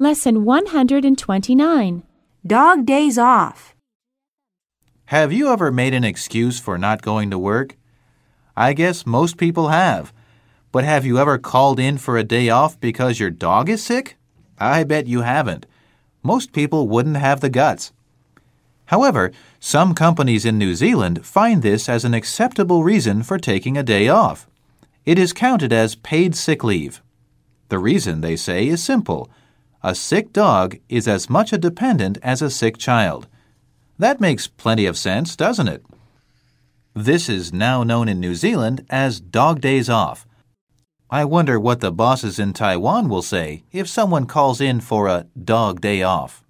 Lesson 129. Dog days off. Have you ever made an excuse for not going to work? I guess most people have. But have you ever called in for a day off because your dog is sick? I bet you haven't. Most people wouldn't have the guts. However, some companies in New Zealand find this as an acceptable reason for taking a day off. It is counted as paid sick leave. The reason, they say, is simple. A sick dog is as much a dependent as a sick child. That makes plenty of sense, doesn't it? This is now known in New Zealand as dog days off. I wonder what the bosses in Taiwan will say if someone calls in for a dog day off.